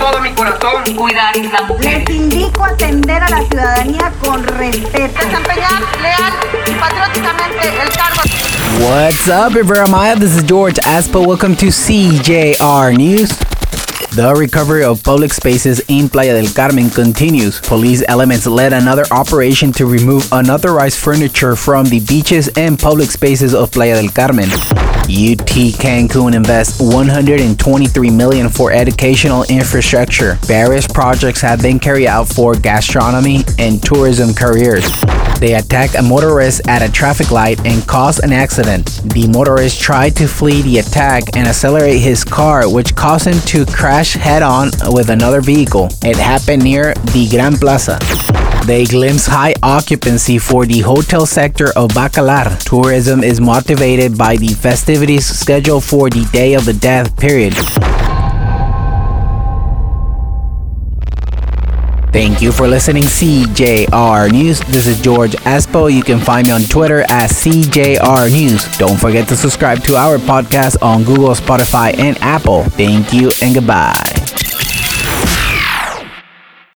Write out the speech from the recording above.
todo mi corazón cuidar a la mujer. Les indico atender a la ciudadanía con respeto. Desempeñar leal y patrióticamente el cargo. What's up, Iberamaya? This is George Aspo. Welcome to CJR News. The recovery of public spaces in Playa del Carmen continues. Police elements led another operation to remove unauthorized furniture from the beaches and public spaces of Playa del Carmen. UT Cancun invests $123 million for educational infrastructure. Various projects have been carried out for gastronomy and tourism careers. They attacked a motorist at a traffic light and caused an accident. The motorist tried to flee the attack and accelerate his car, which caused him to crash head-on with another vehicle. It happened near the Gran Plaza. They glimpse high occupancy for the hotel sector of Bacalar. Tourism is motivated by the festivities scheduled for the Day of the Dead period. Thank you for listening CJR News. This is George Aspo. You can find me on Twitter at CJR News. Don't forget to subscribe to our podcast on Google, Spotify, and Apple. Thank you and goodbye.